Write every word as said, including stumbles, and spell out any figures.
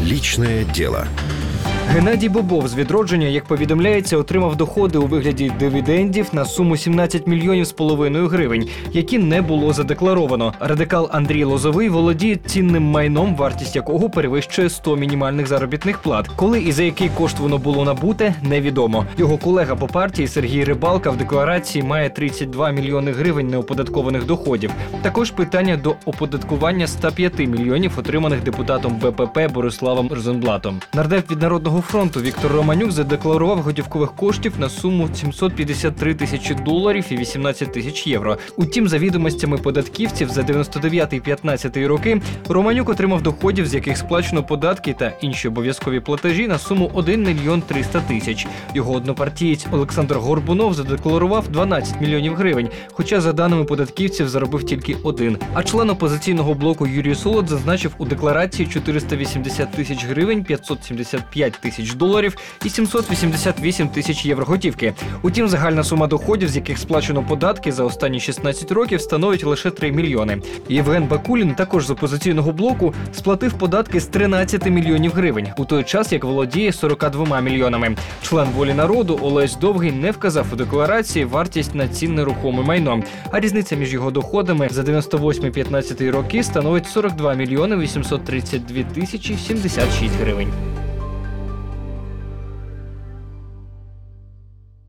Личное дело. Геннадій Бобов з «Відродження», як повідомляється, отримав доходи у вигляді дивідендів на суму сімнадцять мільйонів з половиною гривень, які не було задекларовано. Радикал Андрій Лозовий володіє цінним майном, вартість якого перевищує сто мінімальних заробітних плат. Коли і за який кошт воно було набуте, невідомо. Його колега по партії Сергій Рибалка в декларації має тридцять два мільйони гривень неоподаткованих доходів. Також питання до оподаткування ста п'яти мільйонів, отриманих депутатом Бе Пе Пе Бориславом Розенблатом. Нардеп від «Народного фронту» Віктор Романюк задекларував готівкових коштів на суму сімсот п'ятдесят три тисячі доларів і вісімнадцять тисяч євро. Утім, за відомостями податківців, за дев'яносто дев'ятий - п'ятнадцятий роки Романюк отримав доходів, з яких сплачено податки та інші обов'язкові платежі на суму один мільйон триста тисяч. Його однопартієць Олександр Горбунов задекларував дванадцять мільйонів гривень, хоча, за даними податківців, заробив тільки один. А член опозиційного блоку Юрій Солод зазначив у декларації чотириста вісімдесят тисяч гривень, п'ятсот сімдесят п'ять тисяч доларів і сімсот вісімдесят вісім тисяч євро готівки. Утім, загальна сума доходів, з яких сплачено податки за останні шістнадцять років, становить лише три мільйони. Євген Бакулін, також з опозиційного блоку, сплатив податки з тринадцяти мільйонів гривень, у той час як володіє сорока двома мільйонами. Член «Волі народу» Олесь Довгий не вказав у декларації вартість на цінне рухоме майно, а різниця між його доходами за дев'яносто восьмий - п'ятнадцятий роки становить сорок два мільйони вісімсот тридцять дві тисячі сімдесят шість гривень.